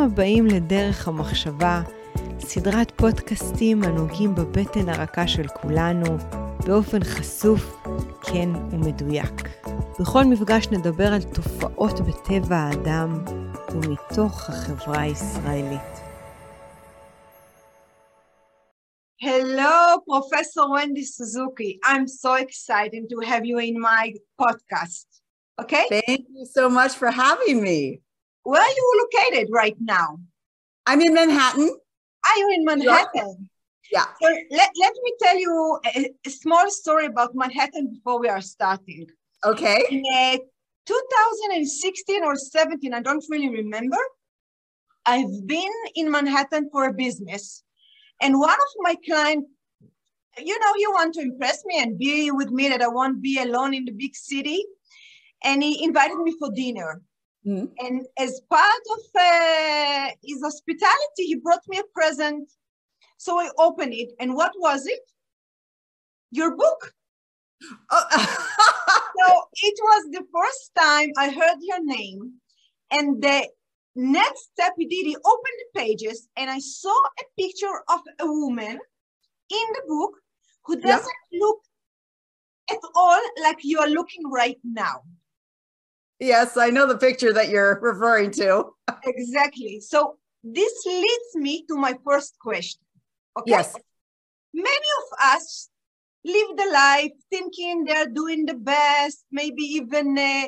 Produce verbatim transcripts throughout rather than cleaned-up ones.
הבאים לדרך המחשבה, סדרת פודקאסטים הנוגעים בבטן הרכה של כולנו, באופן חשוף, כן ומדויק. בכל מפגש נדבר על תופעות בטבע האדם ומתוך החברה הישראלית. Hello, Professor Wendy Suzuki. I'm so excited to have you in my podcast. Okay? Thank you so much for having me. Where are you located right now? I'm in Manhattan. Are you in Manhattan? Yeah. So let, let me tell you a, a small story about Manhattan before we are starting. Okay. In uh, two thousand sixteen or seventeen, I don't really remember, I've been in Manhattan for a business. And one of my clients, you know, he wanted to impress me and be with me, that I won't be alone in the big city. And he invited me for dinner. Mm-hmm. And as part of uh, his hospitality, he brought me a present. So I opened it. And what was it? Your book. Oh. So it was the first time I heard your name. And the next step he did, he opened the pages and I saw a picture of a woman in the book who doesn't yeah. look at all like you are looking right now. Yes, I know the picture that you're referring to. Exactly. So this leads me to my first question. Okay. Yes. Many of us live the life thinking they're doing the best, maybe even uh,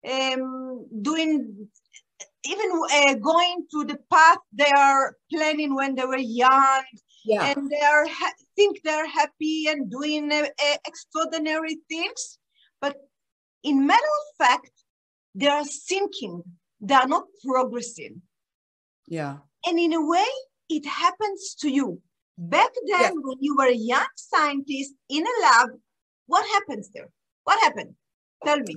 um, doing even uh, going to the path they are planning when they were young, yeah. and they are ha- think they're happy and doing uh, uh, extraordinary things. But in matter of fact, they are sinking. They are not progressing. Yeah. And in a way, it happens to you. Back then, yeah. when you were a young scientist in a lab, what happens there? What happened? Tell me.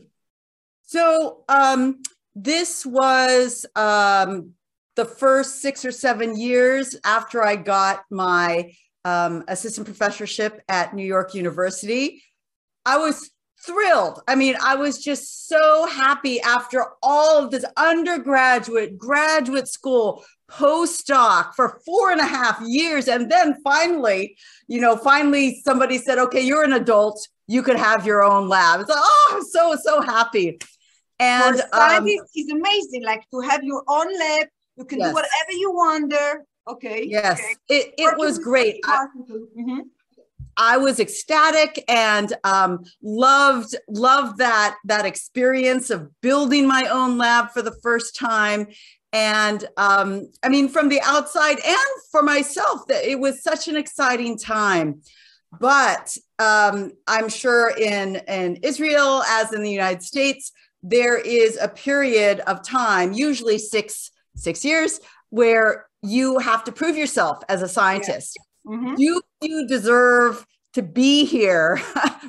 So, um, This was um, the first six or seven years after I got my um, assistant professorship at New York University. I was thrilled. I mean, I was just so happy after all of this undergraduate, graduate school, postdoc for four and a half years. And then finally, you know, finally somebody said, okay, you're an adult. You could have your own lab. It's like, oh, I'm so, so happy. And for scientists, um, it's amazing, like to have your own lab. You can yes. do whatever you want there. Okay. Yes, okay. it, it was great. I, mm-hmm. I was ecstatic and um, loved loved that that experience of building my own lab for the first time. And um, I mean, from the outside and for myself, that it was such an exciting time. But um, I'm sure in in Israel, as in the United States, there is a period of time, usually six, six years, where you have to prove yourself as a scientist. Yeah. Mm-hmm. You, you deserve to be here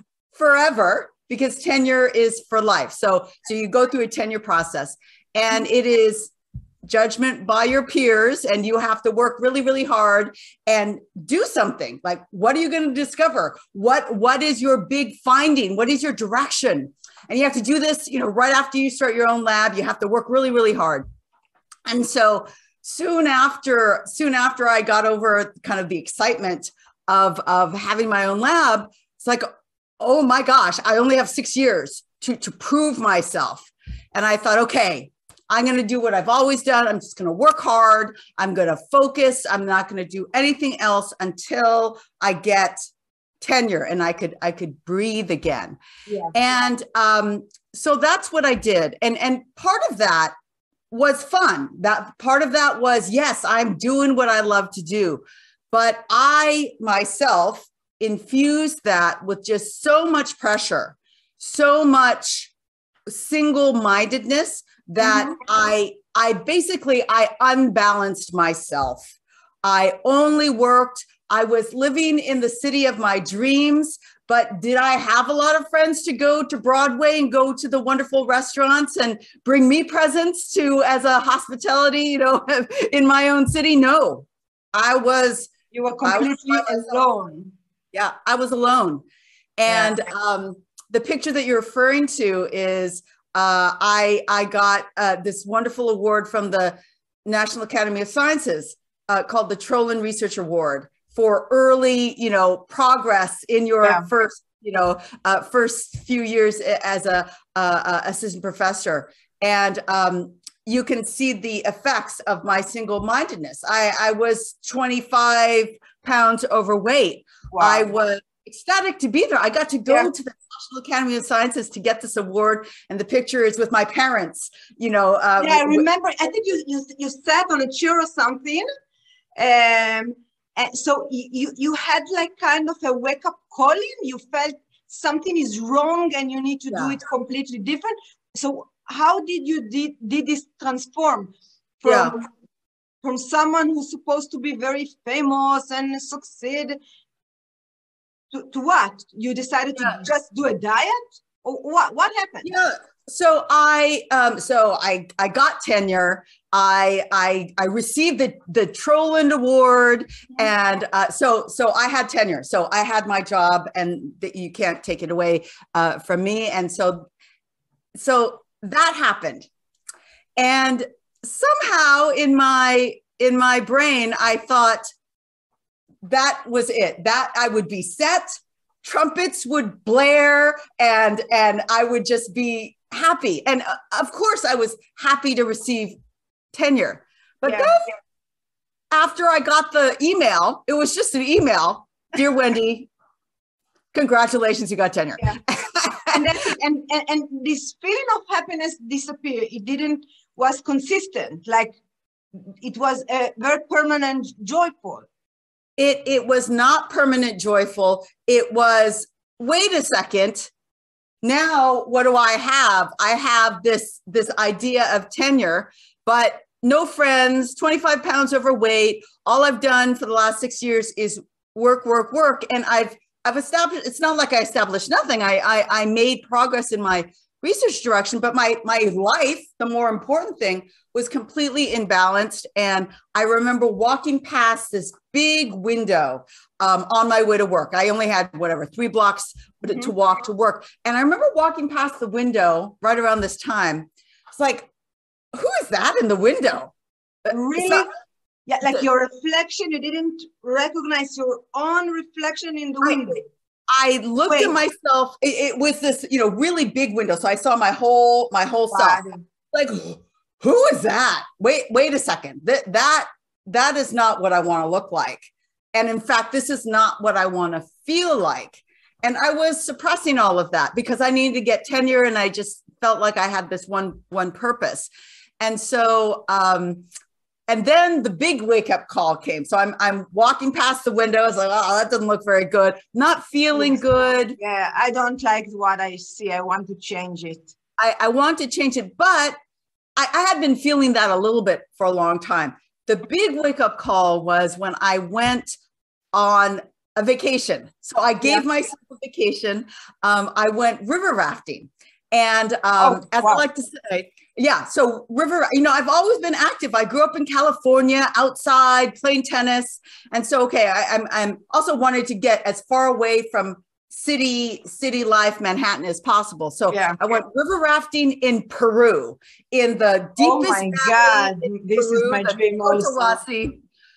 forever because tenure is for life. So, so you go through a tenure process and it is judgment by your peers and you have to work really, really hard and do something. Like, what are you going to discover? What, what is your big finding? What is your direction? And you have to do this, you know, right after you start your own lab. You have to work really, really hard. And so soon after, soon after I got over kind of the excitement of, of having my own lab, it's like, oh my gosh, I only have six years to, to prove myself. And I thought, okay, I'm going to do what I've always done. I'm just going to work hard. I'm going to focus. I'm not going to do anything else until I get tenure and I could, I could breathe again. Yeah. And um, so that's what I did. And, and part of that was fun. That part of that was, yes, I'm doing what I love to do. But I myself infused that with just so much pressure, so much single-mindedness that mm-hmm. I, I basically, I unbalanced myself. I only worked, I was living in the city of my dreams, but did I have a lot of friends to go to Broadway and go to the wonderful restaurants and bring me presents to as a hospitality, you know, in my own city? No, I was. You were completely alone. Yeah, I was alone. And yeah. um, the picture that you're referring to is uh, I, I got uh, this wonderful award from the National Academy of Sciences uh, called the Trollin Research Award for early, you know, progress in your yeah. first, you know, uh, first few years as a uh, assistant professor. And um, you can see the effects of my single-mindedness. I, I was twenty-five pounds overweight. Wow. I was ecstatic to be there. I got to go yeah. to the National Academy of Sciences to get this award, and the picture is with my parents. You know, uh, yeah, I remember. I think you you you sat on a chair or something, um, and so you you had like kind of a wake up calling. You felt something is wrong, and you need to yeah. do it completely different. So how did you did did this transform from yeah. from someone who's supposed to be very famous and succeed? To, to what? You decided yeah. to just do a diet? Or what what happened? Yeah. So I um so I I got tenure. I I I received the the Trollin Award, yeah. and uh, so so I had tenure. So I had my job, and that you can't take it away uh, from me. And so so that happened, and somehow in my in my brain I thought, that was it, that I would be set, trumpets would blare, and and I would just be happy. And uh, of course I was happy to receive tenure. But yeah. then after I got the email, it was just an email, dear Wendy, congratulations, you got tenure. Yeah. and, then, and, and and this feeling of happiness disappeared. It didn't was consistent, like it was a very permanent, joyful. It, it was not permanent joyful. It was, wait a second, now what do I have? I have this, this idea of tenure, but no friends, twenty-five pounds overweight. All I've done for the last six years is work, work, work. And I've, I've established, it's not like I established nothing. I, I, I made progress in my research direction, but my, my life, the more important thing, was completely imbalanced. And I remember walking past this big window um, on my way to work. I only had whatever, three blocks mm-hmm. to walk to work. And I remember walking past the window right around this time. It's like, who is that in the window? Really? Not, yeah, like the, your reflection, you didn't recognize your own reflection in the I, window. I looked Wait. at myself, it, it was this, you know, really big window. So I saw my whole, my whole wow. self. Like, who is that? Wait, wait a second. That, that, that is not what I want to look like. And in fact, this is not what I want to feel like. And I was suppressing all of that because I needed to get tenure, and I just felt like I had this one, one purpose. And so, um, and then the big wake up call came. So I'm, I'm walking past the window. I was like, oh, that doesn't look very good. Not feeling good. Yeah. I don't like what I see. I want to change it. I, I want to change it, but I, I had been feeling that a little bit for a long time. The big wake up call was when I went on a vacation. So I gave yeah. myself a vacation. Um, I went river rafting. And um, oh, as wow. I like to say, yeah, so river, you know, I've always been active. I grew up in California, outside, playing tennis. And so, okay, I, I'm, I'm also wanted to get as far away from city, city life, Manhattan as possible. So yeah. I went river rafting in Peru, in the deepest Oh my God, this Peru, is my dream also.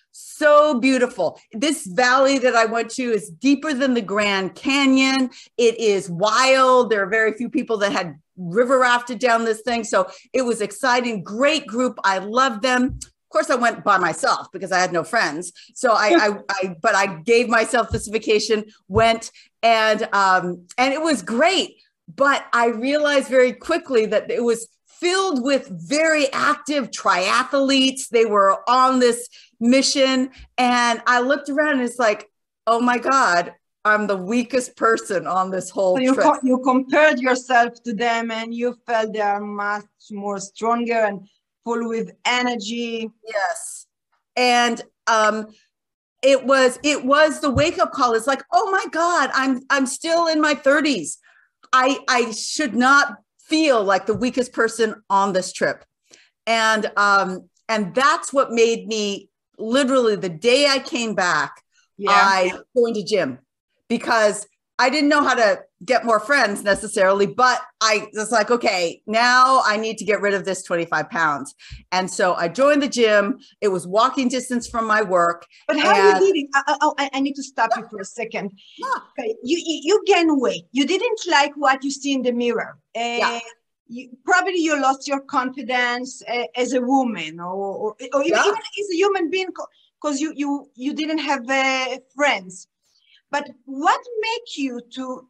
So beautiful. This valley that I went to is deeper than the Grand Canyon. It is wild. There are very few people that had river rafted down this thing. So it was exciting. Great group. I loved them. Of course, I went by myself because I had no friends. So I, I, I but I gave myself this vacation, went, and um, and it was great. But I realized very quickly that it was filled with very active triathletes. They were on this mission. And I looked around and it's like, oh my God, I'm the weakest person on this whole so you trip. Co- you compared yourself to them and you felt they are much more stronger and full with energy. Yes. And um, it was, it was the wake up call. It's like, oh my God, I'm, I'm still in my thirties. I, I should not feel like the weakest person on this trip. And, um, and that's what made me literally the day I came back, yeah. I joined a gym because I didn't know how to get more friends necessarily, but I was like, okay, now I need to get rid of this twenty-five pounds. And so I joined the gym. It was walking distance from my work. But how and, you did it? I, I, I need to stop yeah. you for a second. Yeah. Okay, you, you you gain weight. You didn't like what you see in the mirror. Uh, yeah. You, probably you lost your confidence uh, as a woman, or or, or even, yeah. even as a human being, because you you you didn't have uh, friends. But what made you to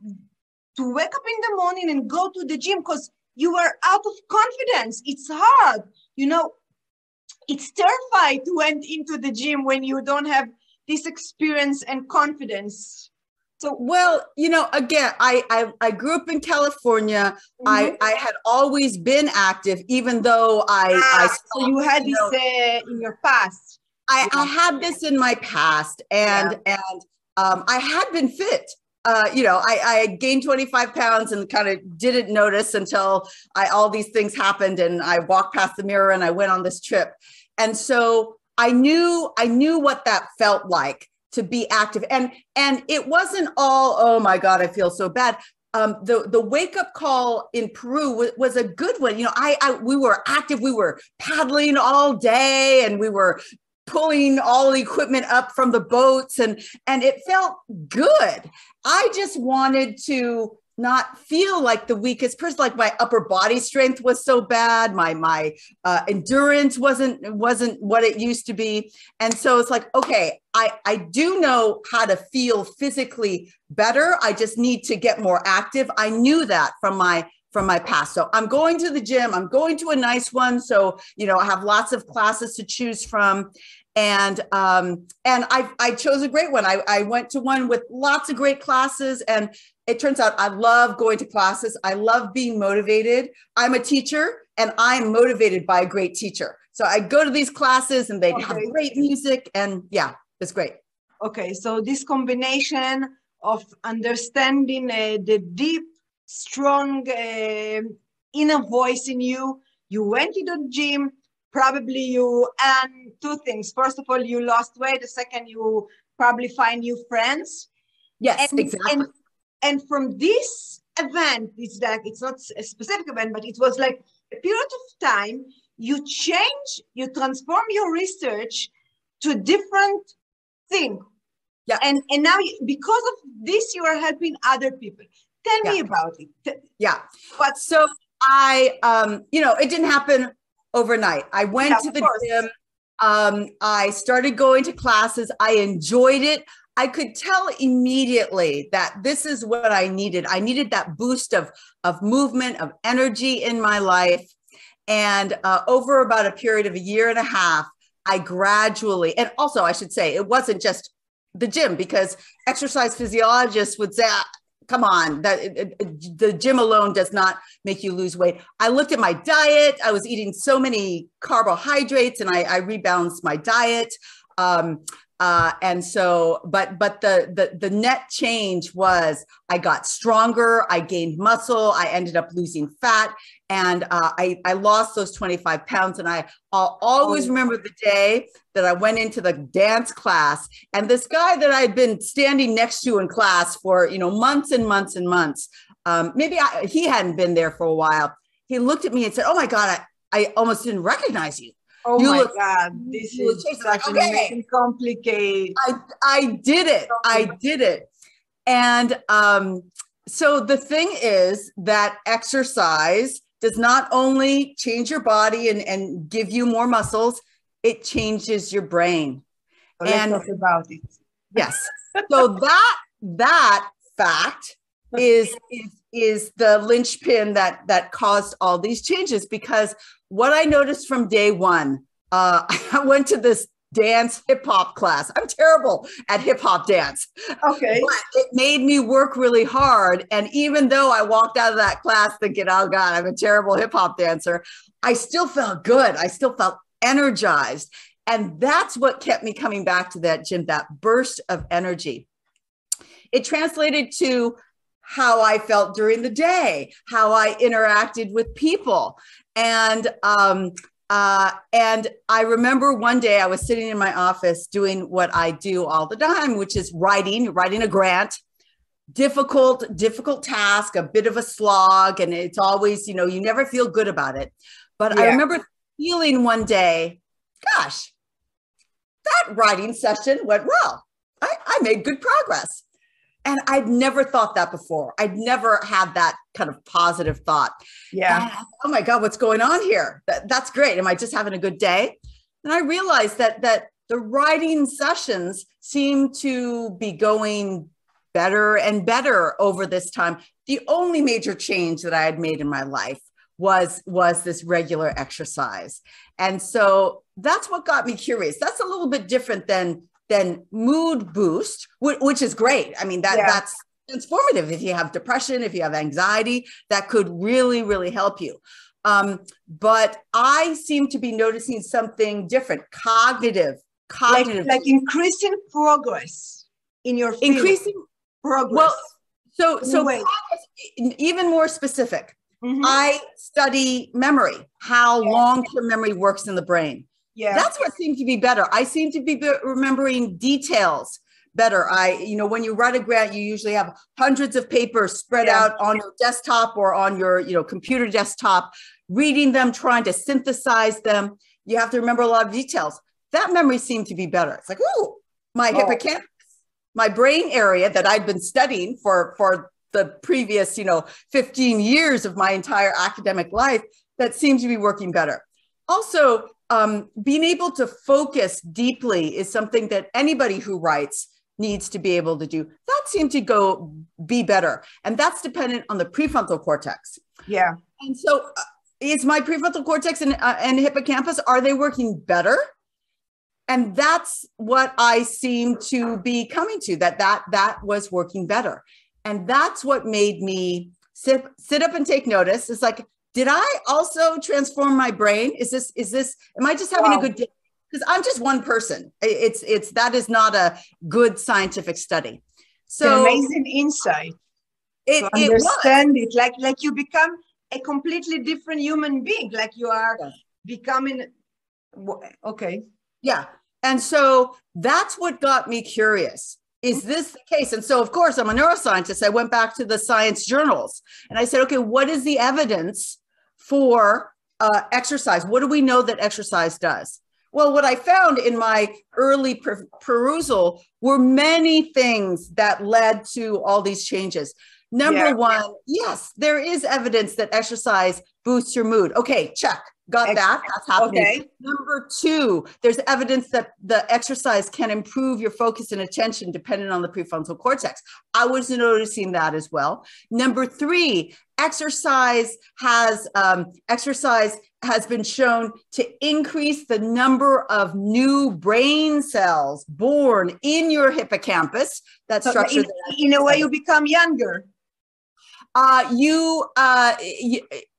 to wake up in the morning and go to the gym? Because you were out of confidence. It's hard, you know. It's terrifying to went into the gym when you don't have this experience and confidence. So, well, you know, again, I I, I grew up in California. Mm-hmm. I, I had always been active, even though I, ah, I so you had you this know, uh, in your past. I, yeah. I had this in my past, and yeah. and um, I had been fit. Uh, you know, I, I gained twenty-five pounds and kind of didn't notice until I all these things happened, and I walked past the mirror and I went on this trip, and so I knew I knew what that felt like to be active. And, and it wasn't all, oh my God, I feel so bad. Um, the, the wake up call in Peru was, was a good one. You know, I, I, we were active, we were paddling all day, and we were pulling all the equipment up from the boats, and, and it felt good. I just wanted to not feel like the weakest person. Like my upper body strength was so bad. My, my uh, endurance wasn't, wasn't what it used to be. And so it's like, okay, I, I do know how to feel physically better. I just need to get more active. I knew that from my, from my past. So I'm going to the gym. I'm going to a nice one. So, you know, I have lots of classes to choose from. And, um, and I, I chose a great one. I, I went to one with lots of great classes, and it turns out I love going to classes. I love being motivated. I'm a teacher, and I'm motivated by a great teacher. So I go to these classes, and they okay. have great music, and yeah, it's great. Okay. So this combination of understanding uh, the deep, strong uh, inner voice in you, you went to the gym. Probably you, and two things. First of all, you lost weight. The second, you probably find new friends. Yes, and, exactly. And, and from this event, it's like, it's not a specific event, but it was like a period of time, you change, you transform your research to a different thing. Yeah. And, and now, you, because of this, you are helping other people. Tell yeah. me about it. Yeah. But so I, um, you know, it didn't happen overnight. I went yeah, to the course. gym. Um, I started going to classes. I enjoyed it. I could tell immediately that this is what I needed. I needed that boost of, of movement, of energy in my life. And uh, over about a period of a year and a half, I gradually, and also I should say, it wasn't just the gym, because exercise physiologists would say, come on, that it, it, the gym alone does not make you lose weight. I looked at my diet. I was eating so many carbohydrates, and I, I rebalanced my diet. Um, uh, and so, but but the, the the net change was I got stronger. I gained muscle. I ended up losing fat, and uh, I I lost those twenty-five pounds. And I I'll always remember the day that I went into the dance class, and this guy that I had been standing next to in class for, you know, months and months and months, um, maybe I, he hadn't been there for a while. He looked at me and said, "Oh my God, I, I almost didn't recognize you." Oh you my look, God, this is such an amazing complicated. I, I did it. I did it. And um, so the thing is that exercise does not only change your body and, and give you more muscles, it changes your brain. So let's and talk about it. Yes. So that, that fact is, is, is the linchpin that, that caused all these changes, because what I noticed from day one, uh, I went to this dance hip hop class. I'm terrible at hip hop dance. Okay. But it made me work really hard. And even though I walked out of that class thinking, oh God, I'm a terrible hip hop dancer, I still felt good. I still felt energized. And that's what kept me coming back to that gym, that burst of energy. It translated to how I felt during the day, how I interacted with people. And, um, uh, and I remember one day I was sitting in my office doing what I do all the time, which is writing, writing a grant, difficult, difficult task, a bit of a slog. And it's always, you know, you never feel good about it. But yeah. I remember feeling one day, gosh, that writing session went well. I, I made good progress. And I'd never thought that before. I'd never had that kind of positive thought. Yeah. And, oh my God, what's going on here? That, that's great. Am I just having a good day? And I realized that, that the writing sessions seem to be going better and better over this time. The only major change that I had made in my life was, was this regular exercise. And so that's what got me curious. That's a little bit different than, than mood boost, which is great. I mean, that, yeah. that's transformative. If you have depression, if you have anxiety, that could really, really help you. Um, but I seem to be noticing something different, cognitive, cognitive. Like, like increasing progress in your field. Increasing progress. Well, so, so progress, even more specific. Mm-hmm. I study memory, how yeah. long-term memory works in the brain. Yeah. That's what seemed to be better. I seem to be remembering details better. I, you know, when you write a grant, you usually have hundreds of papers spread yeah. out on your desktop or on your, you know, computer desktop, reading them, trying to synthesize them. You have to remember a lot of details. That memory seemed to be better. It's like, ooh, my oh. hippocampus, my brain area that I'd been studying for, for the previous, you know, fifteen years of my entire academic life, that seems to be working better. Also, um, being able to focus deeply is something that anybody who writes needs to be able to do. That seemed to go be better. And that's dependent on the prefrontal cortex. Yeah. And so uh, is my prefrontal cortex and, uh, and hippocampus, are they working better? And that's what I seem to be coming to, that that, that was working better. And that's what made me sit, sit up and take notice. It's like, did I also transform my brain? Is this, is this, am I just having wow. a good day? Because I'm just one person. It's, it's, that is not a good scientific study. So it's an amazing insight. It, to understand it, it, like, like you become a completely different human being, like you are yeah. becoming, okay. Yeah. And so that's what got me curious. Is this the case? And so, of course, I'm a neuroscientist. I went back to the science journals and I said, okay, what is the evidence for uh, exercise? What do we know that exercise does? Well, what I found in my early per perusal were many things that led to all these changes. Number yeah. one, yes, there is evidence that exercise boosts your mood. Okay, check. Got that. That's happening. Okay. Number two, there's evidence that the exercise can improve your focus and attention depending on the prefrontal cortex. I was noticing that as well. Number three, exercise has um, exercise has been shown to increase the number of new brain cells born in your hippocampus. That structure. In, in a way, you become younger. Uh, you uh, you,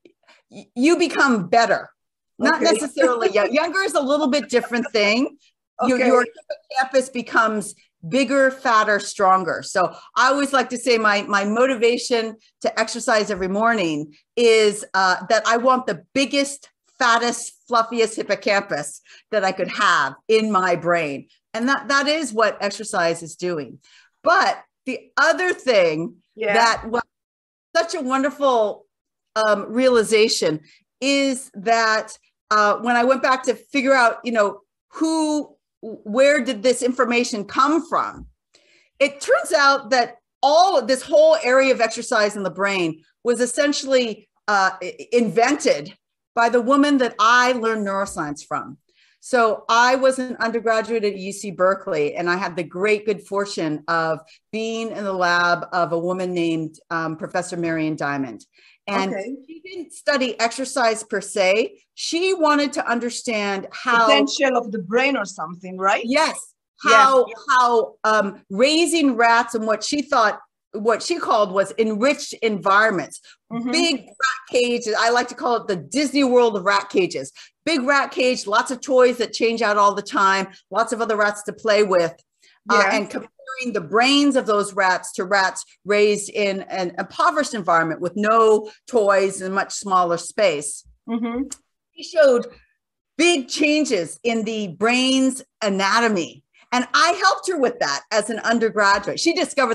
you become better. Not okay. necessarily young. Younger is a little bit different thing. Okay. Your, your hippocampus becomes bigger, fatter, stronger. So I always like to say my, my motivation to exercise every morning is uh, that I want the biggest, fattest, fluffiest hippocampus that I could have in my brain. And that, that is what exercise is doing. But the other thing yeah. that was such a wonderful um, realization is that uh, when I went back to figure out, you know, who, where did this information come from? It turns out that all of this whole area of exercise in the brain was essentially uh, invented by the woman that I learned neuroscience from. So I was an undergraduate at U C Berkeley, and I had the great good fortune of being in the lab of a woman named um, Professor Marion Diamond. And okay. she didn't study exercise per se. She wanted to understand how potential of the brain or something, right? Yes. How, yeah. how um, raising rats and what she thought, what she called was enriched environments, mm-hmm. big rat cages. I like to call it the Disney World of rat cages. Big rat cage, lots of toys that change out all the time, lots of other rats to play with. Yeah. Uh, and comparing the brains of those rats to rats raised in an impoverished environment with no toys and much smaller space. Mm-hmm. He showed big changes in the brain's anatomy. And I helped her with that as an undergraduate. She discovered that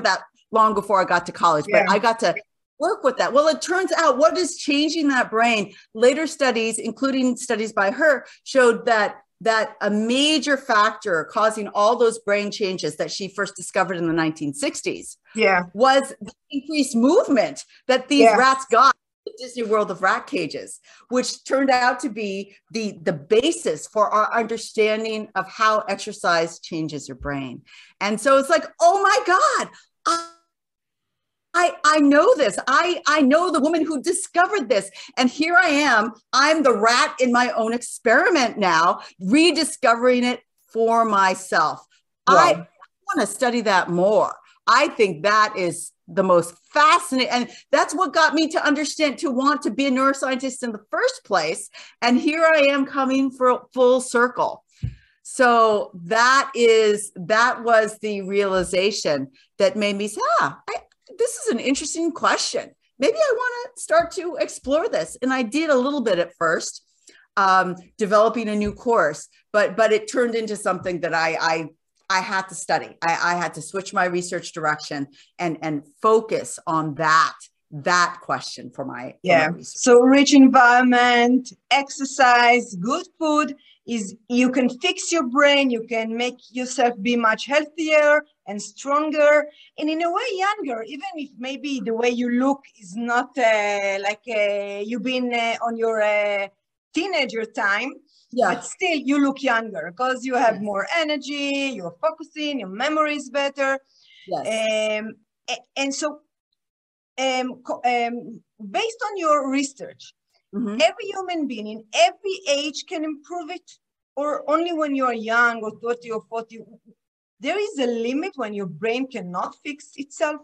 long before I got to college, Yeah. but I got to work with that. Well, it turns out what is changing that brain, later studies, including studies by her, showed that that a major factor causing all those brain changes that she first discovered in the nineteen sixties Yeah. was the increased movement that these Yeah. rats got in the Disney World of rat cages, which turned out to be the, the basis for our understanding of how exercise changes your brain. And so it's like, oh my God, I, I, I know this. I, I know the woman who discovered this. And here I am. I'm the rat in my own experiment now, rediscovering it for myself. Wow. I want to study that more. I think that is the most fascinating. And that's what got me to understand, to want to be a neuroscientist in the first place. And here I am coming for full circle. So that is, that was the realization that made me say, ah, I, this is an interesting question. Maybe I want to start to explore this. And I did a little bit at first, um, developing a new course, but but it turned into something that I I, I had to study. I, I had to switch my research direction and, and focus on that, that question for my, yeah. for my research. So rich environment, exercise, good food is, you can fix your brain, you can make yourself be much healthier and stronger, and in a way younger, even if maybe the way you look is not uh, like uh, you've been uh, on your uh, teenager time, Yeah. but still you look younger because you have Yes. more energy, you're focusing, your memory is better. Yes. Um, and so um, um, based on your research, mm-hmm. every human being in every age can improve it, or only when you are young or thirty or forty? There is a limit when your brain cannot fix itself?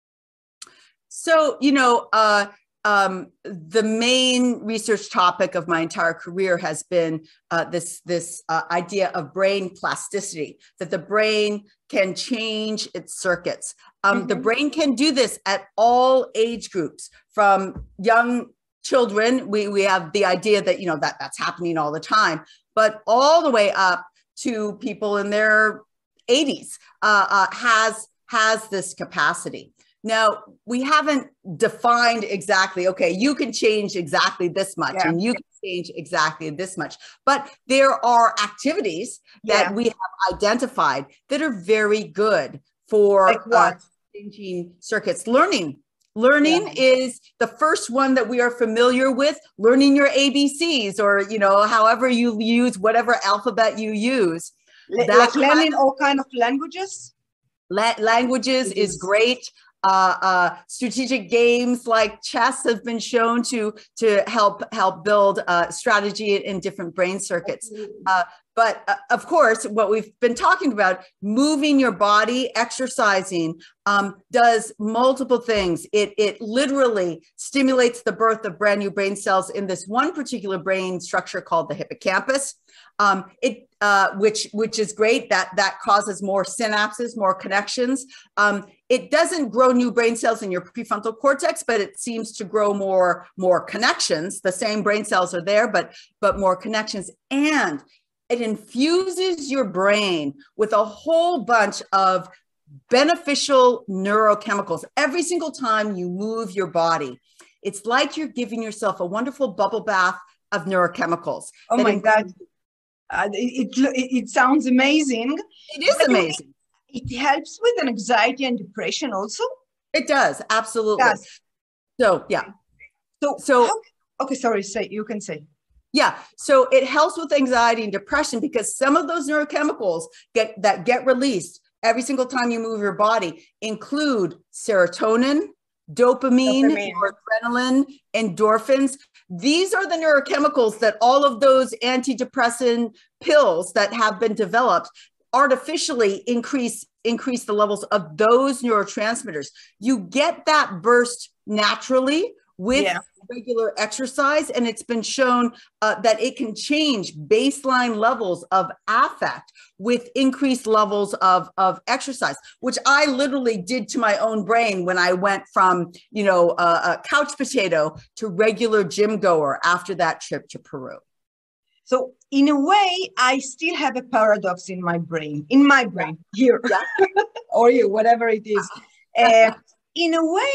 So, you know, uh, um, the main research topic of my entire career has been uh, this, this uh, idea of brain plasticity, that the brain can change its circuits. Um, mm-hmm. The brain can do this at all age groups, from young children. We, we have the idea that, you know, that that's happening all the time, but all the way up to people in their eighties uh, uh, has, has this capacity. Now, we haven't defined exactly, okay, you can change exactly this much yeah. and you can change exactly this much, but there are activities that yeah. we have identified that are very good for like what? Uh, changing circuits. Learning. Learning yeah. is the first one that we are familiar with, learning your A B Cs, or, you know, however you use whatever alphabet you use. L- like learning all kind of languages? La- languages is great. Uh, uh, strategic games like chess have been shown to to help help build uh, strategy in different brain circuits. Uh, but uh, of course, what we've been talking about, moving your body, exercising, um, does multiple things. It it literally stimulates the birth of brand new brain cells in this one particular brain structure called the hippocampus. Um, it uh, which which is great. That that causes more synapses, more connections. Um, it doesn't grow new brain cells in your prefrontal cortex, but it seems to grow more more connections. The same brain cells are there, but but more connections, and it infuses your brain with a whole bunch of beneficial neurochemicals every single time you move your body. It's like you're giving yourself a wonderful bubble bath of neurochemicals. Oh my God. Uh, it, it, it sounds amazing. It is amazing. It, it helps with an anxiety and depression also? It does, absolutely. It does. So, yeah. So, so how, okay, sorry, say, you can say. Yeah, so it helps with anxiety and depression because some of those neurochemicals get that get released every single time you move your body include serotonin, dopamine, dopamine. adrenaline, endorphins. These are the neurochemicals that all of those antidepressant pills that have been developed artificially increase increase the levels of those neurotransmitters. You get that burst naturally with yeah. regular exercise, and it's been shown uh, that it can change baseline levels of affect with increased levels of, of exercise, which I literally did to my own brain when I went from, you know, uh, a couch potato to regular gym goer after that trip to Peru. So in a way, I still have a paradox in my brain, in my brain here, yeah. or you, whatever it is. Uh, in a way,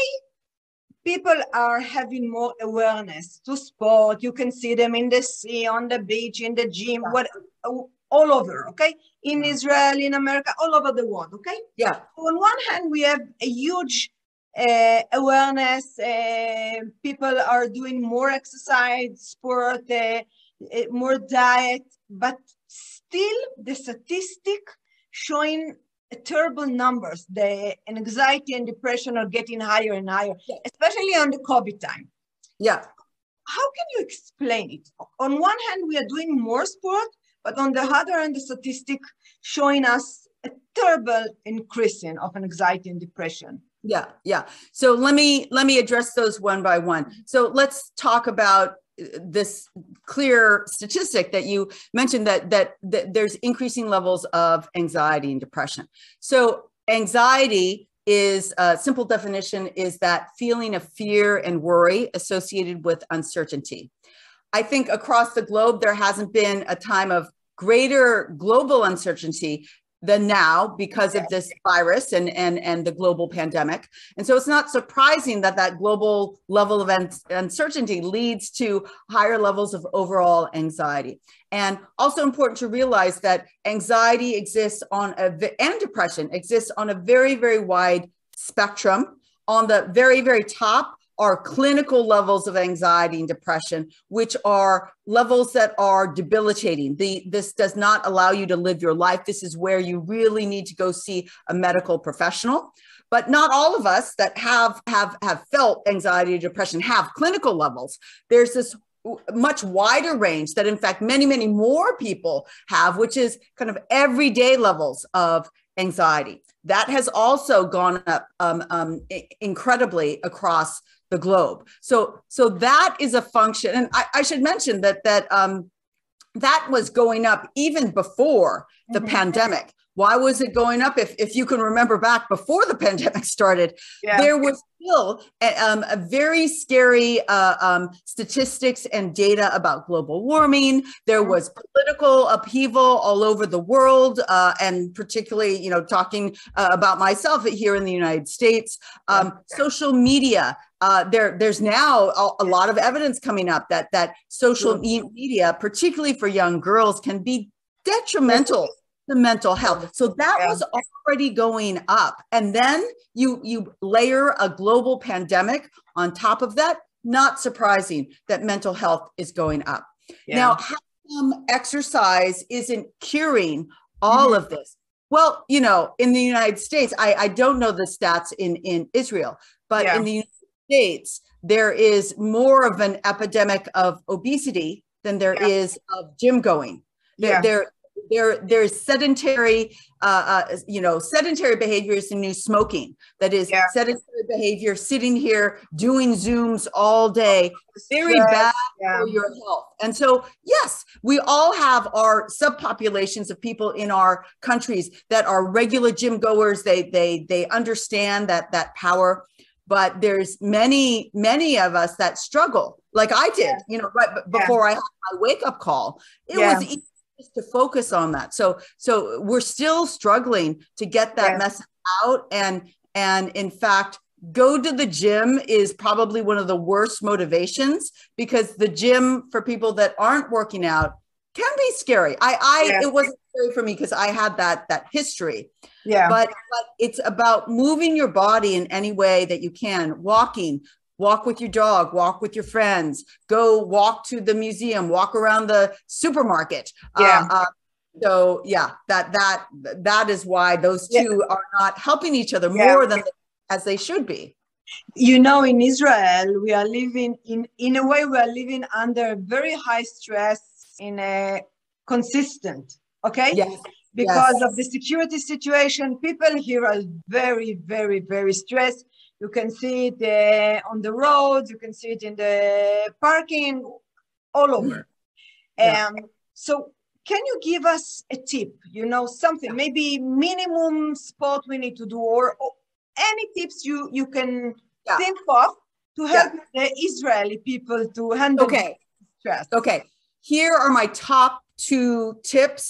people are having more awareness to sport. You can see them in the sea, on the beach, in the gym, yeah. what, all over, okay? In yeah. Israel, in America, all over the world, okay? Yeah. On one hand, we have a huge uh, awareness. Uh, people are doing more exercise, sport, uh, uh, more diet, but still the statistic showing terrible numbers. The anxiety and depression are getting higher and higher, yeah. especially on the COVID time. Yeah. How can you explain it? On one hand, we are doing more sport, but on the other hand, the statistic showing us a terrible increasing of anxiety and depression. Yeah, yeah. So let me let me address those one by one. So let's talk about this clear statistic that you mentioned, that, that that there's increasing levels of anxiety and depression. So anxiety is a simple definition is that feeling of fear and worry associated with uncertainty. I think across the globe, there hasn't been a time of greater global uncertainty than now because of this virus and, and, and the global pandemic. And so it's not surprising that that global level of uncertainty leads to higher levels of overall anxiety. And also important to realize that anxiety exists on a, and depression exists on a very, very wide spectrum. On the very, very top are clinical levels of anxiety and depression, which are levels that are debilitating. The, this does not allow you to live your life. This is where you really need to go see a medical professional. But not all of us that have, have, have felt anxiety and depression have clinical levels. There's this much wider range that in fact many, many more people have, which is kind of everyday levels of anxiety. That has also gone up um, um, incredibly across the globe. So, so that is a function. And I, I should mention that, that, um, that was going up even before the mm-hmm. pandemic. Why was it going up? If, if you can remember back before the pandemic started, yeah. there was still a, um, a very scary uh, um, statistics and data about global warming. There was political upheaval all over the world, uh, and particularly, you know, talking uh, about myself here in the United States. Um, yeah. Social media. Uh, there, there's now a, a lot of evidence coming up that that social mm-hmm. media, particularly for young girls, can be detrimental to mental health. So that yeah. was already going up. And then you, you layer a global pandemic on top of that. Not surprising that mental health is going up. Yeah. Now, how come exercise isn't curing all mm-hmm. of this? Well, you know, in the United States, I, I don't know the stats in, in Israel, but yeah. in the United States, there is more of an epidemic of obesity than there yeah. is of gym going. There, yeah. there, there, there's sedentary, uh, uh, you know, sedentary behaviors and new smoking. That is yeah. sedentary behavior, sitting here doing Zooms all day, very yes. bad yeah. for your health. And so, yes, we all have our subpopulations of people in our countries that are regular gym goers. They, they, they understand that that power. But there's many, many of us that struggle, like I did, yeah. you know, right before yeah. I had my wake-up call. It yeah. was easy to focus on that. So, so we're still struggling to get that yeah. message out. And, and in fact, go to the gym is probably one of the worst motivations, because the gym for people that aren't working out can be scary. I, I, yeah. it wasn't scary for me because I had that, that history. Yeah. But, but it's about moving your body in any way that you can. Walking, walk with your dog, walk with your friends, go walk to the museum, walk around the supermarket. Yeah. Uh, uh, so yeah, that, that, that is why those two yeah. are not helping each other yeah. more than as they should be. You know, in Israel, we are living in, in a way, we are living under very high stress in a consistent, okay? Yes. Because yes. of the security situation, people here are very, very, very stressed. You can see it uh, on the roads, you can see it in the parking, all over. Yeah. Um, so can you give us a tip, you know, something, maybe minimum sport we need to do, or, or any tips you, you can yeah. think of to help yeah. the Israeli people to handle okay. stress? Okay, here are my top two tips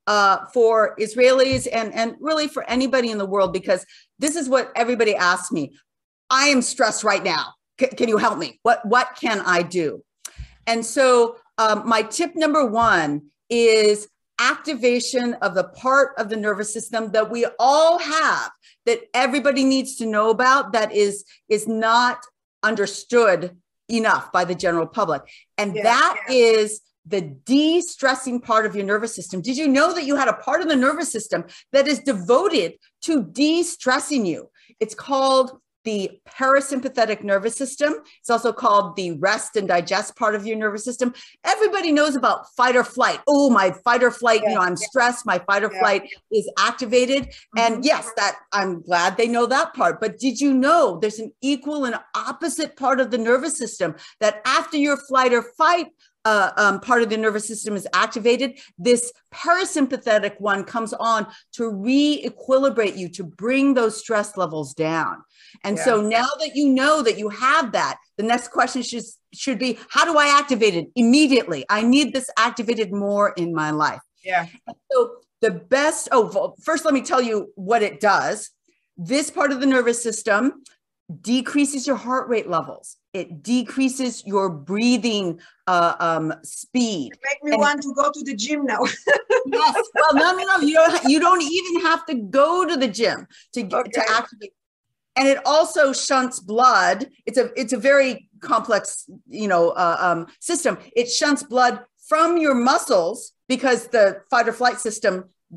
uh, for Israelis and, and really for anybody in the world, because this is what everybody asks me. I am stressed right now. C- can you help me? What, what can I do? And so um, my tip number one is activation of the part of the nervous system that we all have, that everybody needs to know about, that is, is not understood enough by the general public. And Yeah, that yeah. is the de-stressing part of your nervous system. Did you know that you had a part of the nervous system that is devoted to de-stressing you? It's called the parasympathetic nervous system. It's also called the rest and digest part of your nervous system. Everybody knows about fight or flight. Oh, my fight or flight, Yeah, you know, I'm yeah. stressed, my fight or Yeah. flight is activated. Mm-hmm. And yes, that I'm glad they know that part. But did you know there's an equal and opposite part of the nervous system that after your flight or fight Uh, um, part of the nervous system is activated, this parasympathetic one comes on to re-equilibrate you, to bring those stress levels down. And Yeah. so now that you know that you have that, the next question should, should be, how do I activate it immediately? I need this activated more in my life. Yeah. So the best, oh, first let me tell you what it does. This part of the nervous system decreases your heart rate levels. It decreases your breathing uh, um, speed. Make me And- want to go to the gym now. Yes. Well, no, no, no. You don't. You don't even have to go to the gym to Okay. to activate. And it also shunts blood. It's a it's a very complex, you know, uh, um, system. It shunts blood from your muscles because the fight or flight system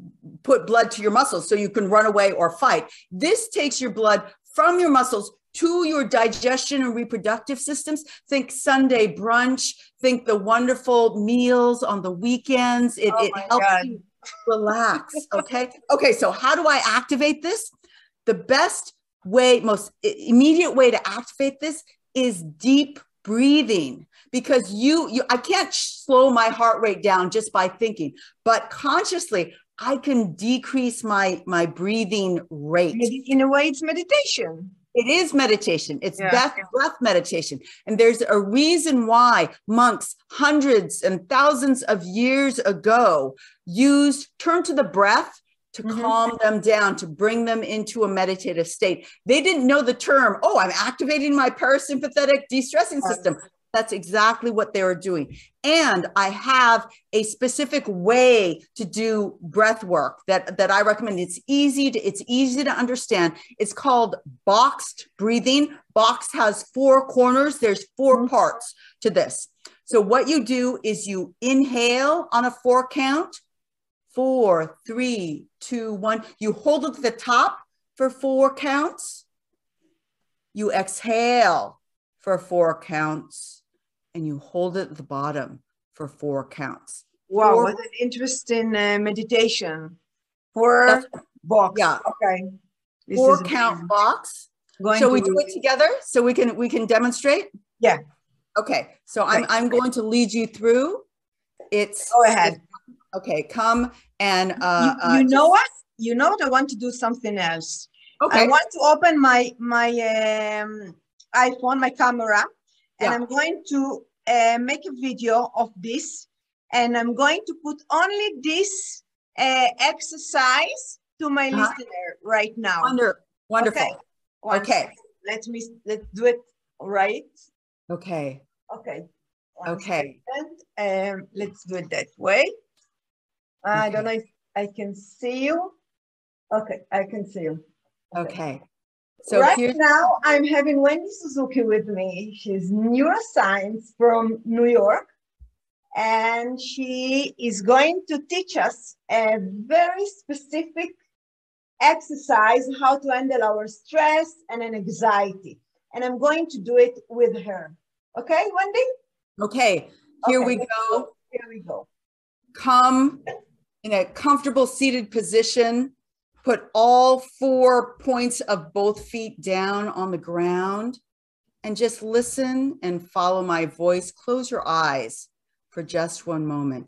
put blood to your muscles so you can run away or fight. This takes your blood from your muscles to your digestion and reproductive systems. Think Sunday brunch, think the wonderful meals on the weekends. It, Oh it my helps God. you relax, okay? Okay, so how do I activate this? The best way, most immediate way to activate this is deep breathing, because you, you I can't slow my heart rate down just by thinking, but consciously, I can decrease my, my breathing rate. In a way, it's meditation. It is meditation. It's Yeah. breath, breath meditation. And there's a reason why monks hundreds and thousands of years ago used, turned to the breath to Mhm. calm them down, to bring them into a meditative state. They didn't know the term, oh, I'm activating my parasympathetic de-stressing system. That's exactly what they were doing. And I have a specific way to do breath work that, that I recommend. It's easy to, it's easy to understand. It's called boxed breathing. Box has four corners. There's four Mm-hmm. parts to this. So what you do is you inhale on a four count, four, three, two, one. You hold it to the top for four counts. You exhale for four counts. And you hold it at the bottom for four counts. Wow, Four, what an interesting uh, meditation. Four That's- box. yeah. Okay. This four is count amazing. box. Going Shall we to- do it together so we can we can demonstrate? Yeah. Okay. So I'm I'm going to lead you through. It's Go ahead. okay. Come and uh, you uh, you know just- what? You know what? I want to do something else. Okay. I want to open my my um, iPhone, my camera, and Yeah. I'm going to uh, make a video of this, and I'm going to put only this uh, exercise to my Uh-huh. listener right now. Wonder, wonderful. Okay. One Okay. second. Let me let's do it right. Okay. Okay. One Okay. second. Um, let's do it that way. I don't know if I can see you. Okay, I can see you. Okay. So right here's now, I'm having Wendy Suzuki with me. She's neuroscience from New York, and she is going to teach us a very specific exercise, how to handle our stress and an anxiety. And I'm going to do it with her. Okay, Wendy? okay. Here Okay, we let's go. Here we go. Come in a comfortable seated position. Put all four points of both feet down on the ground and just listen and follow my voice. Close your eyes for just one moment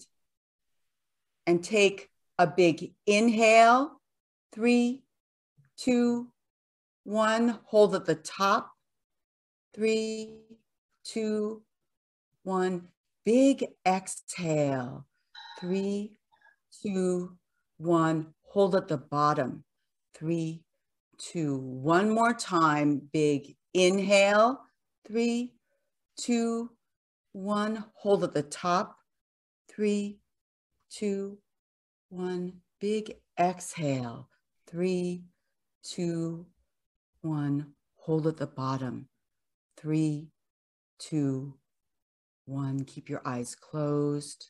and take a big inhale. Three, two, one. Hold at the top. Three, two, one. Big exhale. Three, two, one, hold at the bottom. Three, two, one more time. Big inhale. Three, two, one, hold at the top. Three, two, one, big exhale. Three, two, one, hold at the bottom. Three, two, one, keep your eyes closed.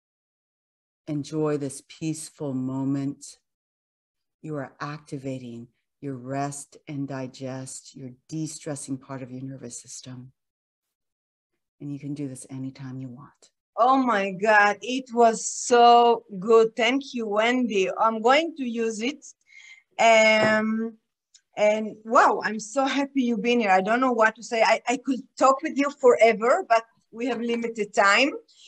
Enjoy this peaceful moment. You are activating your rest and digest, your de-stressing part of your nervous system. And you can do this anytime you want. Oh my God, it was so good. Thank you, Wendy. I'm going to use it. Um, and wow, I'm so happy you've been here. I don't know what to say. I, I could talk with you forever, but we have limited time.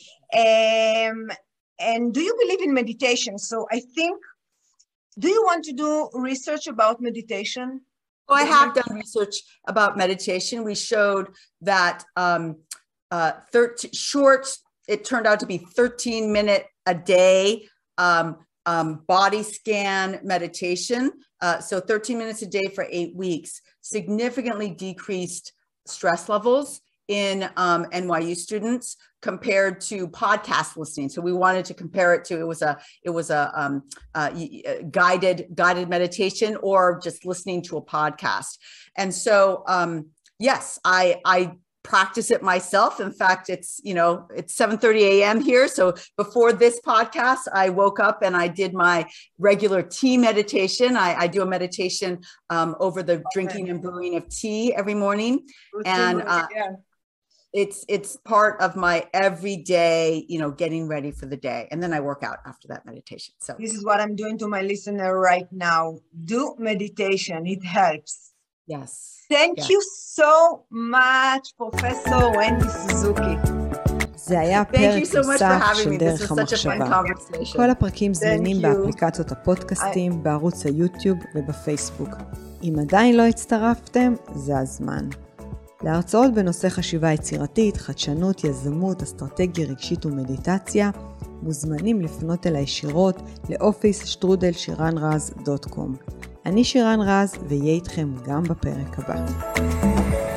Um, and do you believe in meditation? So I think, do you want to do research about meditation? Oh, I have done research about meditation. We showed that um, uh, thirteen, short, it turned out to be thirteen minute a day um, um, body scan meditation. Uh, so thirteen minutes a day for eight weeks, significantly decreased stress levels in um, N Y U students compared to podcast listening. So we wanted to compare it to, it was a, it was a um, uh, guided, guided meditation or just listening to a podcast. And so, um, yes, I, I practice it myself. In fact, it's, you know, it's seven thirty a.m. here. So before this podcast, I woke up and I did my regular tea meditation. I, I do a meditation um, over the drinking and brewing of tea every morning. And uh, yeah. It's it's part of my everyday, you know, getting ready for the day. And then I work out after that meditation. So this is what I'm doing to my listener right now. Do meditation. It helps. Yes. Thank yes. you so much, Professor Wendy Suzuki. זה היה פרק נוסף של דרך המחשבה. כל הפרקים זמינים באפליקציות הפודקאסטים, בערוץ היוטיוב ובפייסבוק. אם עדיין לא הצטרפתם, זה הזמן. להרצאות בנושא חשיבה יצירתית, חדשנות, יזמות, אסטרטגיה רגשית ומדיטציה, מוזמנים לפנות אל הישירות לאופיס שטרודל שירן רז דוט קום. אני שירן רז, ויהיה איתכם גם בפרק הבא.